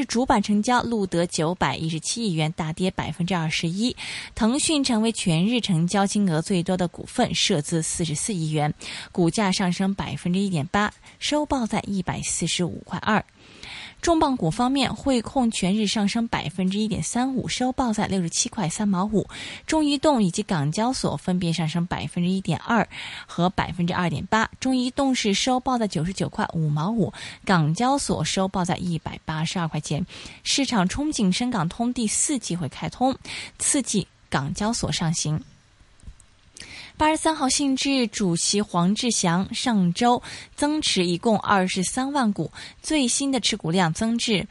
日主板成交录得917亿元，大跌21%。腾讯成为全日成交金额最多的股份，涉资44亿元，股价上升1.8%，收报在145.2块。重磅股方面，汇控全日上升1.35%，收报在67.3块5。中移动以及港交所分别上升1.2%和2.8%。中移动是收报在99.5块5，港交所收报在182块钱。市场憧憬深港通第4季会开通，刺激港交所上行。83号信置主席黄志祥上周增持一共23万股，最新的持股量增至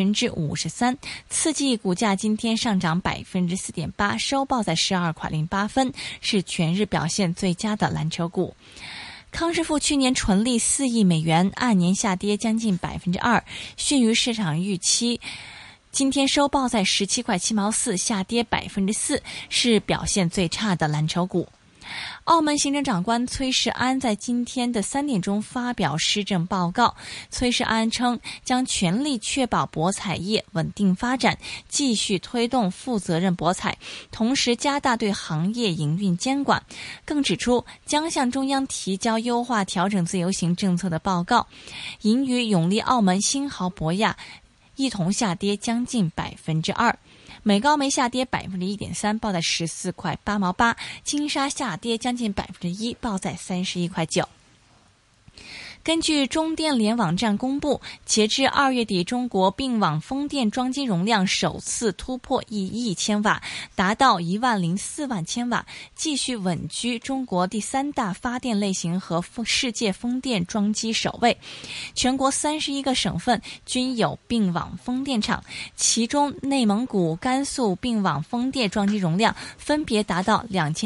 53%，刺激股价今天上涨4.8%，收报在12.08块，是全日表现最佳的蓝筹股。康师傅去年纯利4亿美元，按年下跌将近2%，逊于市场预期。今天收报在17.7块4，下跌4%，是表现最差的蓝筹股。澳门行政长官崔世安在今天的3点钟发表施政报告。崔世安称，将全力确保博彩业稳定发展，继续推动负责任博彩，同时加大对行业营运监管。更指出，将向中央提交优化调整自由行政策的报告。银娱、永利澳门、新濠博亚一同下跌将近2%。美高梅下跌1.3%，报在14.8块8。金沙下跌将近1%，报在31.9块。根据中电联网站公布，截至2月底，中国并网风电装机容量首次突破1亿千瓦，达到104万千瓦，继续稳居中国第3大发电类型和世界风电装机首位。全国31个省份均有并网风电场，其中内蒙古、甘肃并网风电装机容量分别达到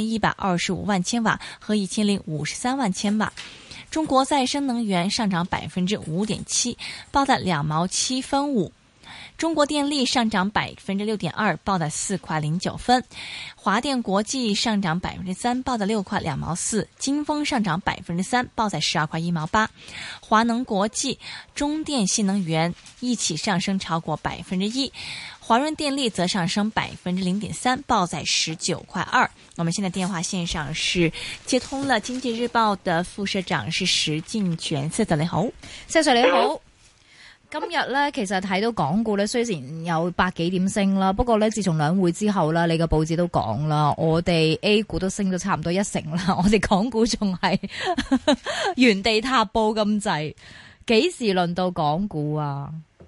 2125万千瓦和1053万千瓦。中国再生能源上涨5.7%，报在2毛7分5。中国电力上涨6.2%，报在4块09分。华电国际上涨3%，报在6块2毛4。金丰上涨3%，报在12块1毛8。华能国际、中电新能源一起上升超过1%。华润电力则上升0.3%，报在19块2。我们现在電話線上是接通了經濟日報的副社長是石鏡泉。石 Sir 你好。 石 Sir 你好。今日咧，其實睇到港股咧，雖然有百幾點升啦，不過咧，自從兩會之後啦，你個報紙都講啦，我哋 A 股都升咗差唔多1成啦，我哋港股仲係原地踏步咁滯，幾時輪到港股啊？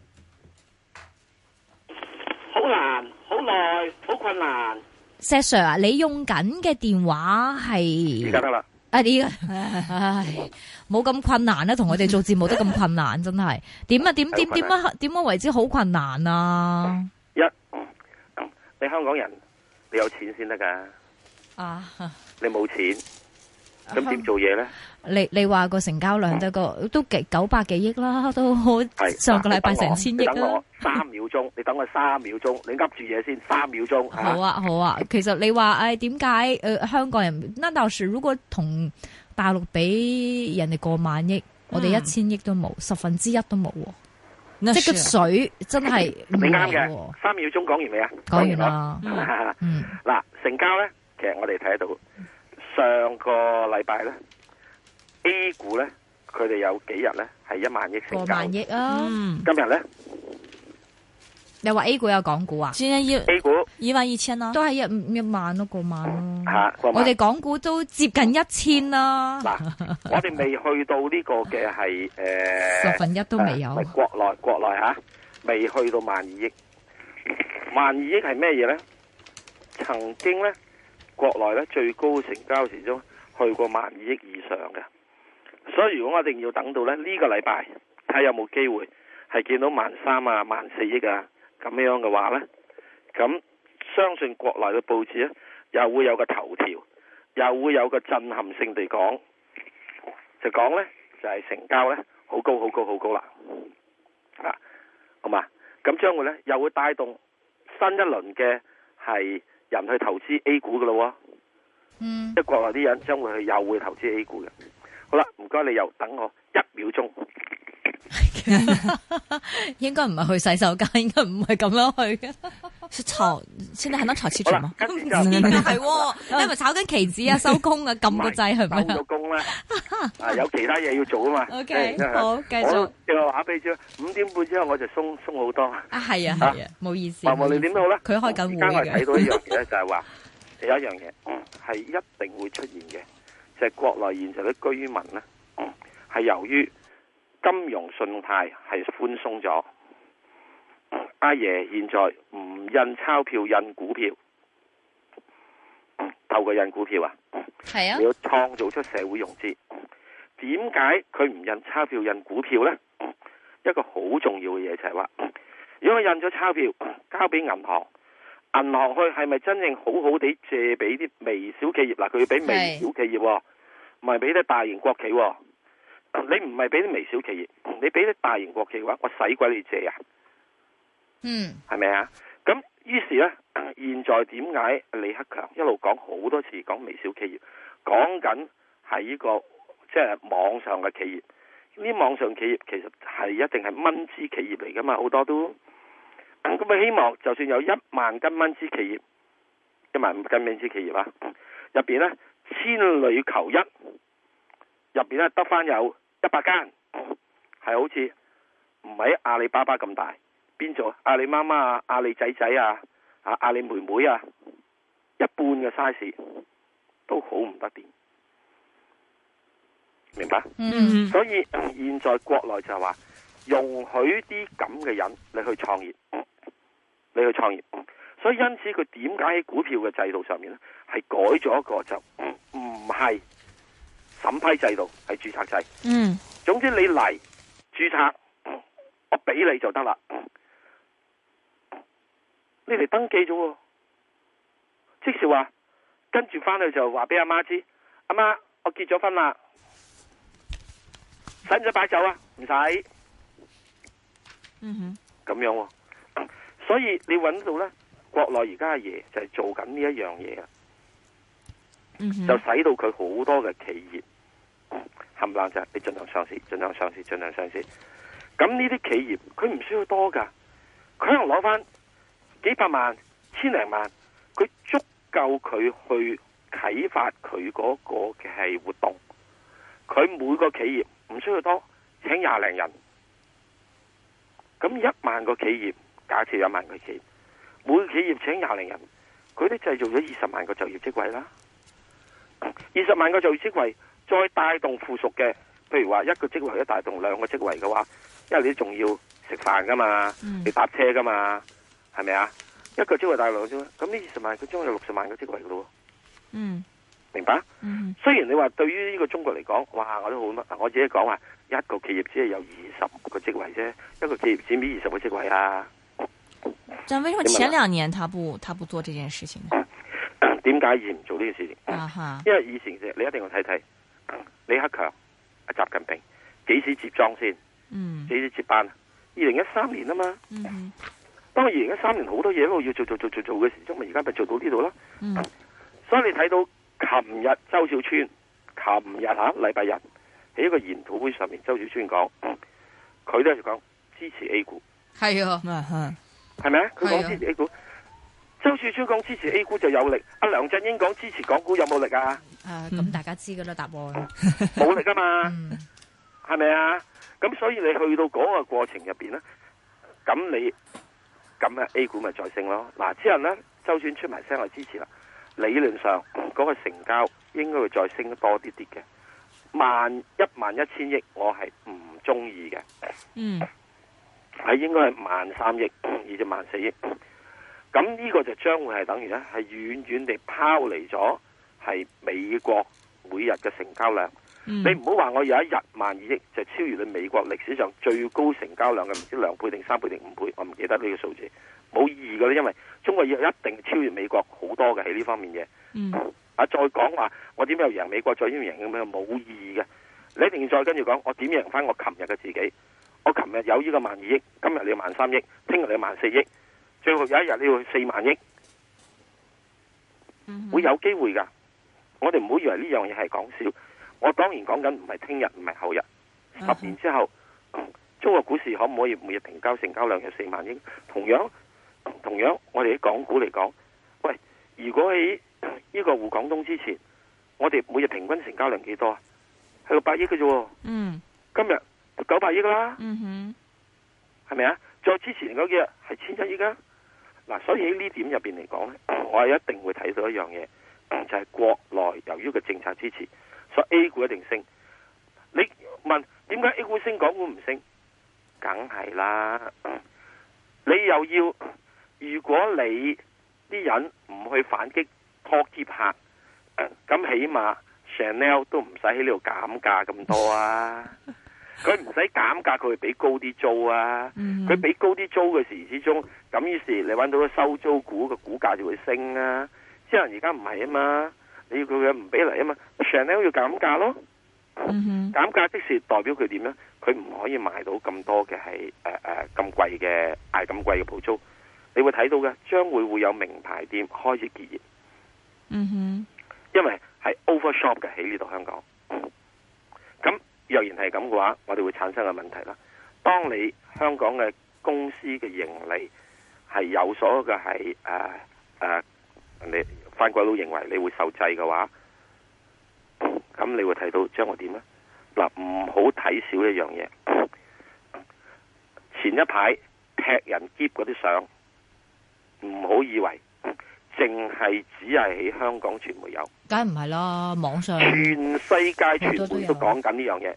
好難，好耐，好困難。 石 Sir 啊，你用緊嘅電話係？而家得啦。唉，冇咁困難啦，同我哋做節目都咁困難，真係點啊？點樣為之好困難啊？ 你香港人，你有錢先得噶。啊，你冇錢，咁點做嘢咧？ 你話個成交量得個都900幾億啦，都上個禮拜成1000億啦。 等我3秒鐘，你等我3秒鐘，你噏住嘢先3秒鐘。 好啊，好啊。其實你話點解香港人那倒是如果同大陸比人哋過萬億，我哋1000億都冇，1/10都冇喎。即個水真係唔係喎。 3秒鐘講完未啊？ 講完啦。 嗱，成交咧，其實我哋睇得到上個禮拜咧。A 股咧，佢哋有幾日咧係1萬億成交， 過萬億啊！ 今日咧， 你話 A 股有港股啊？ 今日 A 股 11000咯， 都係一萬咯，過萬咯。 過萬。 我哋港股都接近1000啦。 嗱，我哋未去到呢個嘅係 1/10都未有。 國內吓，未去到12000億。12000億係咩嘢咧？曾經咧，國內咧最高成交時鐘去過12000億以上嘅。所以如果我一定要等到咧呢個禮拜睇下有冇機會係見到13000啊、14000億啊咁樣嘅話咧，咁相信國內嘅報紙咧又會有個頭條，又會有個震撼性地講，就講咧就係成交咧好高好高好高啦，啊，好嘛？咁將會咧又會帶動新一輪嘅係人去投資 A 股嘅咯，即係國內啲人將會又會投資 A 股嘅。好啦，唔該，你又等我1秒鐘。 應該唔係去洗手間，應該唔係咁樣去嘅。 是炒，現在還能炒期指嗎？ 跟住就係，你係咪炒緊期指啊？收工啊？撳個掣係咪？ 收咗工啦，有其他嘢要做啊嘛。 OK，好，繼續。 我正話俾你知，5點半之後我就鬆好多。 係啊，冇意思。 無論點都好啦， 佢開緊會嘅。 而家我睇到一樣嘢咧，就係話有一樣嘢係一定會出現嘅，就係國內現在啲居民咧，係由於金融信貸係寬鬆咗。阿爺現在唔印鈔票印股票，透過印股票啊， 係啊， 你要創造出社會融資。點解佢唔印鈔票印股票呢？一個好重要嘅嘢就係話，如果佢印咗鈔票交俾銀行，銀行去係咪真正好好地借俾啲微小企業？嗱，佢要俾微小企業，唔係俾啲大型國企。你唔係俾啲微小企業，你俾啲大型國企嘅話，我使鬼你借啊？係咪啊？咁於是呢，現在點解李克強一路講好多次講微小企業，講緊係呢個即係網上嘅企業？呢啲網上企業其實係一定係蚊枝企業嚟噶嘛，好多都咁佢希望就算有1萬間蚊枝企業，1萬間蚊枝企業啊，入邊呢千里求一，入邊呢得翻有100間，係好似唔係阿里巴巴咁大。邊做阿里媽媽啊、阿里仔仔啊、阿里妹妹啊，一半嘅 size 都好唔得掂，明白？所以現在國內就係話容許啲咁嘅人你去創業，所以因此佢點解喺股票嘅制度上面咧係改咗一個就唔係審批制度，係註冊制。總之你嚟註冊，我俾你就得啦。你嚟登記咗，即是話跟住翻去就話俾阿媽知，阿媽我結咗婚啦，使唔使擺酒啊？唔使。咁樣，所以你揾到咧，國內而家阿爺就係做緊呢一樣嘢啊，就使到佢好多嘅企業冚唪唥就係你盡量上市，盡量上市，盡量上市。咁呢啲企業佢唔需要多噶，佢可能攞翻幾百萬、千零萬，佢足夠佢去啟發佢嗰個嘅係活動。佢每個企業唔需要多，請20零人。咁1萬個企業，假設1萬個企業，每個企業請20零人，佢都製造咗20萬個就業職位啦。20萬個就業職位，再帶動附屬嘅，譬如話一個職位一帶動2個職位嘅話，因為你仲要食飯噶嘛，你搭車噶嘛。係咪啊？一個職位大兩啫，咁呢20萬佢將有60萬個職位噶咯。明白？雖然你話對於呢個中國嚟講，哇，我都好乜，我自己講話一個企業只係有20個職位啫，一個企業佔比20個職位啊。 但為什麼前2年他不做這件事情呢？ 點解以前唔做呢件事情？因為以前你一定要睇睇李克強、阿習近平幾時接莊先，幾時接班？2013年啊嘛。當然2013年好多嘢都要做嘅時候，咪而家咪做到呢度咯。所以你睇到琴日周小川，禮拜日喺一個研討會上面，周小川講，佢都係講支持 A 股。係啊，係咪啊？佢講支持 A 股，周小川講支持 A 股就有力。阿梁振英講支持港股有冇力啊？ 咁大家知噶啦，答案冇力啊嘛，係咪啊？咁所以你去到嗰個過程入邊咧，咁啊 A 股咪再升咯。嗱，之後咧，周選出埋聲嚟支持啦。理論上嗰個成交應該會再升得多啲啲嘅，11000億我係唔中意嘅。係應該係13000億至14000億。咁呢個就將會係等於咧係遠遠地拋離咗係美國每日嘅成交量。你唔好話我有一日12000億就超越你美國歷史上最高成交量嘅唔知2倍定3倍定5倍，我唔記得呢個數字，冇意義嘅咧，因為中國要一定超越美國好多嘅喺呢方面嘅。再講話我點樣贏美國，再點樣贏咁樣冇意義嘅。你一定要再跟住講，我點贏翻我琴日嘅自己。我琴日有呢個12000億，今日你要13000億，聽日你要14000億，最後有一日你要4萬億，會有機會噶。我哋唔好以為呢樣嘢係講笑。我當然講緊唔係聽日，唔係後日，10年之後， 中國股市可唔可以每日成交量有4萬億？同樣，我哋喺港股嚟講，喂，如果喺呢個滬港通之前，我哋每日平均成交量幾多啊？係600億嘅啫。 嗯， 今日就900億啦。 嗯哼， 係咪啊？再之前嗰幾日係1000億啊。嗱，所以喺呢點入邊嚟講咧，我係一定會睇到一樣嘢，就係國內由於個政策支持，所以 A 股一定升。你問點解 A 股升，港股唔升？梗係啦。你又要，如果你啲人唔去反擊拖劫客，咁起碼 Chanel 都唔使喺呢度減價咁多啊。佢唔使減價，佢會俾高啲租啊。佢俾高啲租嘅時之中，咁於是你揾到個收租股嘅股價就會升啊。之後而家唔係啊嘛，你要佢嘅唔俾嚟啊嘛 ，Chanel 要減價咯。減價即是代表佢點咧？佢唔可以賣到咁多嘅係咁貴嘅嗌咁貴嘅鋪租。你會睇到嘅，將會有名牌店開始結業。因為係 overshop 嘅喺呢度香港。咁若然係咁嘅話，我哋會產生嘅問題啦。當你香港嘅公司嘅盈利係有所嘅係你番鬼佬認為你會受制嘅話，咁你會睇到將會點呢？嗱，唔好睇少一樣嘢。前一排踢人劫嗰啲相，唔好以為淨係只係喺香港傳媒有， 梗係唔係啦，網上全世界傳媒都講緊呢樣嘢。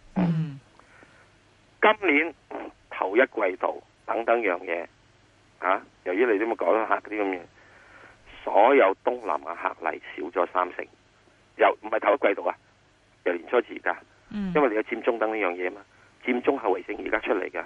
今年頭一季度等等樣嘢，由於你都冇講到客啲咁嘢，所有東南亞客嚟少咗30%，又唔係頭一季度啊，由年初至而家，因為你有佔中等呢樣嘢嘛，佔中後遺症而家出嚟噶，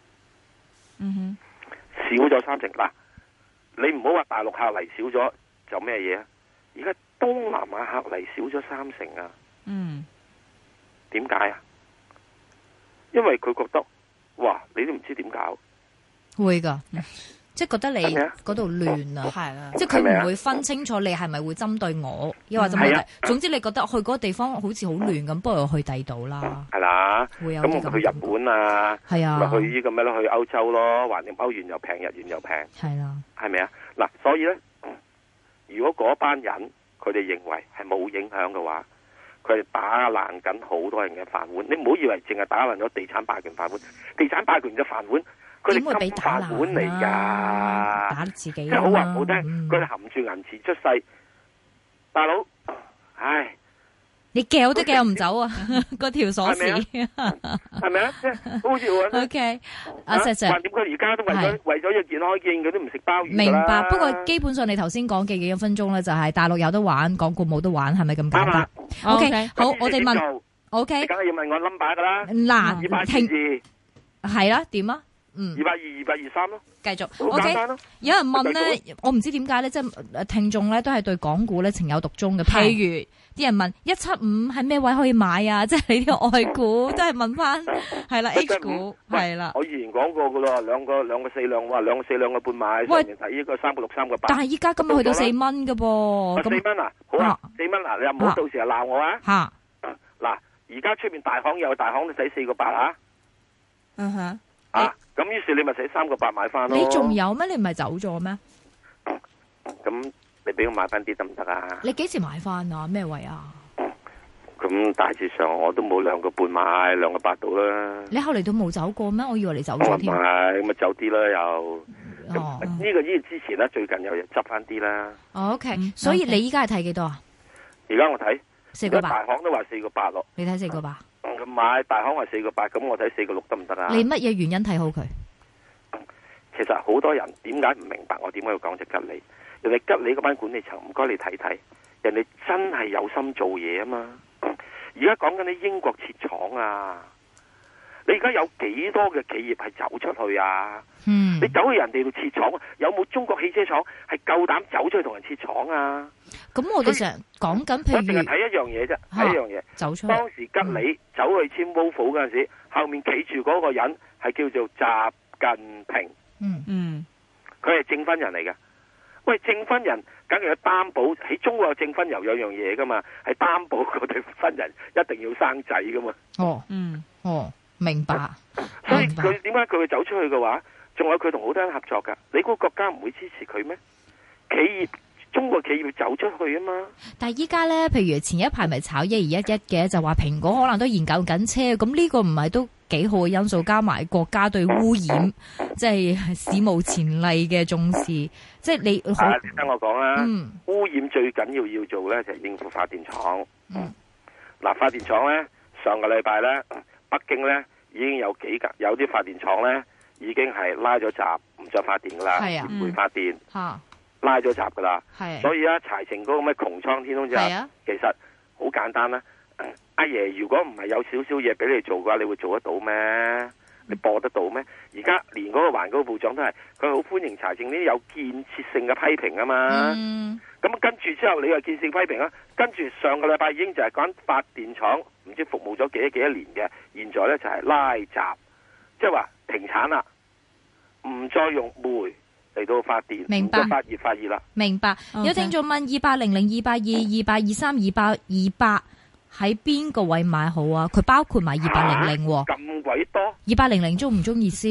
少咗30%嗱。你唔好話大陸客嚟少咗就咩嘢啊？而家東南亞客嚟少咗30%啊！點解啊？因為佢覺得，哇！你都唔知點搞， 會噶，即係覺得你嗰度亂啊，係啦，即係佢唔會分清楚你係咪會針對我，又或者乜嘢。總之你覺得去嗰個地方好似好亂咁，不如去第二度啦。係啦，會有啲咁。咁去日本啊，係啊，咪去呢個咩咯？去歐洲咯，橫掂歐元又平，日元又平，係啦，係咪啊？嗱，所以咧，如果嗰班人佢哋認為係冇影響嘅話，佢哋打爛緊好多人嘅飯碗。你唔好以為淨係打爛咗地產霸權飯碗，地產霸權嘅飯碗，佢哋金飯碗嚟噶， 打自己， 即係好話唔好聽，佢哋含住銀匙出世，大佬，唉， 你撬都撬唔走啊！嗰條鎖匙係咪啊？即係好似我 OK， 阿石 Sir， 點解而家都為咗要健康見，佢都唔食鮑魚？ 明白。不過基本上你頭先講嘅幾分鐘咧，就係大陸有得玩，港股冇得玩，係咪咁簡單 ？OK， 好，我哋問 OK， 梗係要問我 number 噶啦。 嗱 ，222 係啦，點啊 ？220、223咯， 繼續。OK， 有人問咧，我唔知點解咧，即係聽眾咧都係對港股咧情有獨鐘嘅。譬如啲人問175喺咩位可以買啊？即係你啲外股都係問翻，係啦 H 股係啦。 我以前講過噶啦，兩個4兩，話2個4兩個半買，上面睇呢個3個6、3個8。但係依家今日去到4蚊噶噃。4蚊啊，好啊，4蚊啊，你又唔好到時又鬧我啊。吓，嗱，而家出面大行有大行都使4個8啊。咁於是你咪使3個8買翻咯。 你仲有咩？你唔係走咗咩？ 咁你俾我買翻啲得唔得啊？ 你幾時買翻啊？咩位啊？ 咁大致上我都冇2個半買，2個8到啦。 你後嚟都冇走過咩？我以為你走咗添。 唔係，咁咪走啲啦又。呢個之前咧，最近又執翻啲啦。 OK，所以你依家係睇幾多啊？ 而家我睇 4個8， 大行都話4個8咯。 你睇4個8。 咁買大行話4個8，咁我睇4個6得唔得啊？ 你乜嘢原因睇好佢？ 其實好多人點解唔明白我點解要講隻吉利？人哋吉利嗰班管理層唔該你睇睇，人哋真係有心做嘢啊嘛！而家講緊啲英國設廠啊，你而家有幾多嘅企業係走出去啊？你走去人哋度設廠，有冇中國汽車廠係夠膽走出去同人設廠啊？ 咁我哋成日講緊，譬如睇一樣嘢啫，睇一樣嘢。 走出去當時吉利走去簽 Volvo 嗰陣時，後面企住嗰個人係叫做習近平。佢係證婚人嚟嘅。喂，證婚人梗係有擔保，喺中國有證婚有樣嘢噶嘛，係擔保嗰對婚人一定要生仔噶嘛。 明白。 所以佢點解佢會走出去嘅話，仲有佢同好多人合作㗎。你估國家唔會支持佢咩？企業中國企業走出去啊嘛。 但係依家咧，譬如前一排咪炒1211嘅，就話蘋果可能都研究緊車，咁呢個唔係都幾好嘅因素，加埋國家對污染即係史無前例嘅重視，即係你。 聽我講啦，污染最緊要做咧就係應付發電廠。嗱，發電廠咧上個禮拜咧，北京咧已經有啲發電廠咧已經係拉咗閘，唔再發電噶啦，唔會發電。拉咗閘噶啦，所以啊，柴靜嗰個咩窮蒼天空之下，其實好簡單啦。阿爺如果唔係有少少嘢俾你做嘅話，你會做得到咩？你播得到咩？而家連嗰個環境部長都係，佢好歡迎柴靜呢啲有建設性嘅批評啊嘛。咁跟住之後，你又建設性批評啦。跟住上個禮拜已經就係講發電廠唔知服務咗幾多年嘅，現在咧就係拉閘，即係話停產啦，唔再用煤嚟到發電， 明白， 發熱啦。 明白。有聽眾問2800、220、2823、200喺邊個位買好啊？佢包括埋2800喎。 咁鬼多 ？2800中唔中意先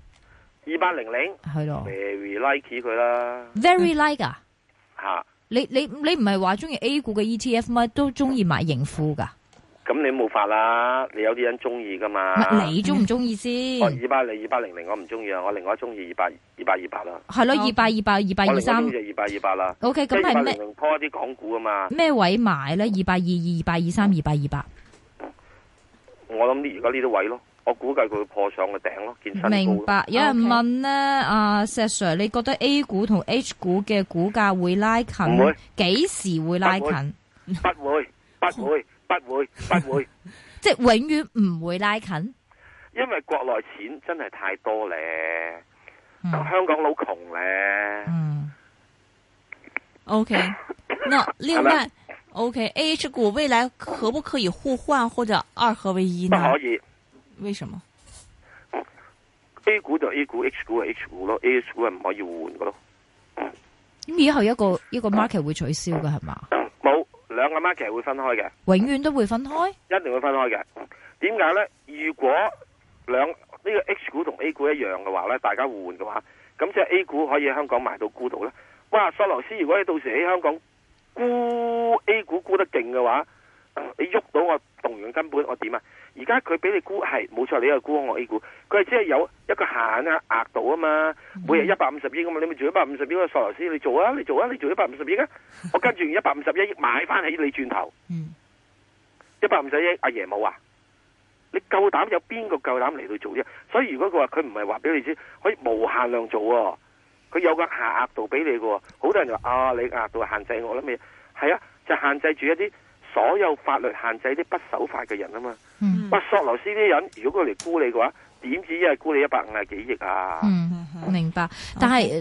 ？2800 係咯 ，very like 佢啦。 very like 啊？ 吓， 你唔係話中意 A 股嘅 ETF 咩？都中意買盈富噶？ 咁你冇法啦，你有啲人中意噶嘛？ 你中唔中意先 ？2800我唔中意啊，我另外中意228啦。 係咯，223。 我另外中意228啦。 OK， 咁係咩？ 拖一啲港股啊嘛。 咩位買咧？222、223、228。 我諗而家呢啲位咯，我估計佢會破上個頂咯，見新高。 明白。有人問咧，阿石 Sir， 你覺得 A 股同 H 股嘅股價會拉近？唔會。幾時會拉近？ 不會。不會， 即係永遠唔會拉近， 因為國內錢真係太多咧，香港佬窮咧。 OK， 那另外 OK，AH 股未來可不可以互換或者二合為一呢？ 不可以。 為什麼 ？A 股就 A 股，H 股係 H 股咯，AH 股係唔可以換噶咯。 咁以後一個 market 會取消嘅係嘛？ 冇。兩個 market 會分開嘅， 永遠都會分開， 一定會分開嘅。點解呢？如果呢個 H 股同 A 股一樣嘅話呢，大家互換嘅話，咁即係 A 股可以喺香港賣到沽到呢。哇！索羅斯如果你到時喺香港沽 A 股沽得勁嘅話，你喐到我動員根本我點啊？而家佢俾你沽係冇錯，你又沽我 A 股，佢係只係有一個限額度啊嘛，每日150億啊嘛，你咪做150億嘅索羅斯，你做啊，你做150億啊，我跟住151億買翻起你轉頭，150億阿爺冇啊，你夠膽有邊個夠膽嚟到做啫？所以如果佢話佢唔係話俾你知可以無限量做喎，佢有個限額度俾你嘅喎，好多人就話啊，你額度限制我啦咩？係啊，就限制住一啲所有法律限制啲不守法嘅人啊嘛。索羅斯啲人如果佢嚟沽你嘅話，點止一係沽你150幾億啊？ 明白。但係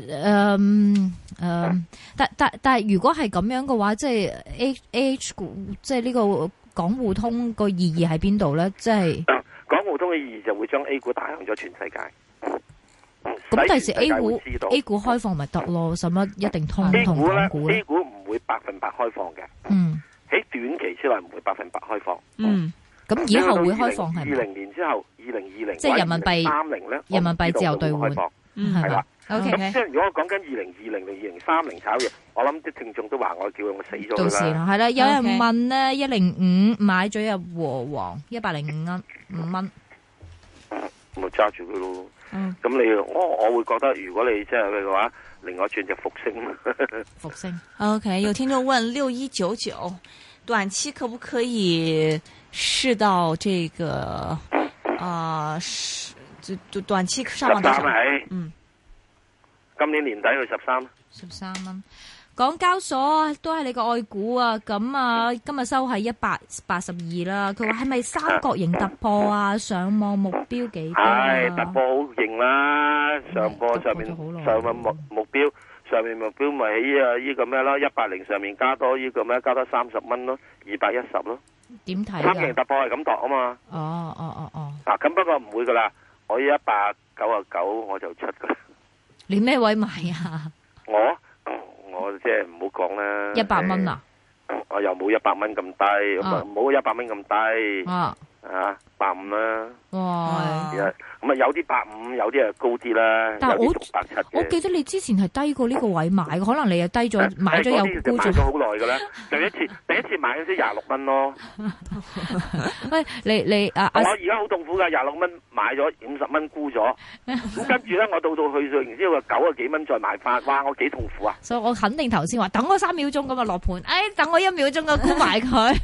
但係如果係咁樣嘅話，即係 AH 股，即係呢個港互通個意義喺邊度咧？即係港互通嘅意義就會將 A 股打向咗全世界。 咁第時 A 股開放咪得咯？使乜一定通同港股咧？ A 股唔會100%開放嘅。喺短期之內唔會100%開放。 咁以後會開放係咪 ？20年之後，2020 即係人民幣 30咧， 人民幣自由兌換係啦。 OK， 咁即係如果我講緊2020定2030炒嘢，我諗啲聽眾都話我叫我死咗到時啦，係啦。有人問咧，105買咗入和黃105蚊， 咪揸住佢咯。咁我會覺得，如果你即係佢嘅話，另外轉就復星。 復星。 OK， 有聽眾問6199短期可不可以試到這個短期上望多少？ 今年年底去 13蚊。港交所都係你個愛股啊，咁啊今日收係182啦。佢話係咪三角形突破啊？上望目標幾多啊？ 係突破好勁啦！上面目標上面目標咪喺呢個咩咯？180上面加多呢個咩？加多30蚊咯，210咯。 點睇？ 三角形突破係咁度啊嘛。嗱，咁不過唔會噶啦，我199我就出噶啦。 你咩位買啊？ 我即係唔好講啦 ，100蚊啊！ 我又冇100蚊咁低，唔好100蚊咁低。 185啦。 哇！ 咁啊有啲85，有啲係高啲啦， 但係有啲670嘅。 我記得你之前係低過呢個位買嘅，可能你又低咗買咗又沽咗。 買咗好耐㗎啦，第一次買嗰時26蚊咯。 喂，你我而家好痛苦㗎，26蚊買咗50蚊沽咗，咁跟住咧我到去到然之後90幾蚊再買翻，哇！我幾痛苦啊！ 所以我肯定頭先話等我3秒鐘咁啊落盤，等我1秒鐘啊沽埋佢。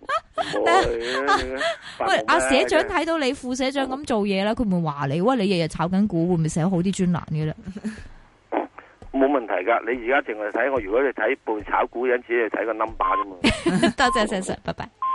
喂，阿社長睇到你副社長咁做嘢啦，佢唔會話你，喂，你日日炒緊股，會唔會寫好啲專欄嘅咧？ 冇問題噶，你而家淨係睇我，如果你睇半炒股，因此你睇個 number 啫嘛。 多謝，拜拜。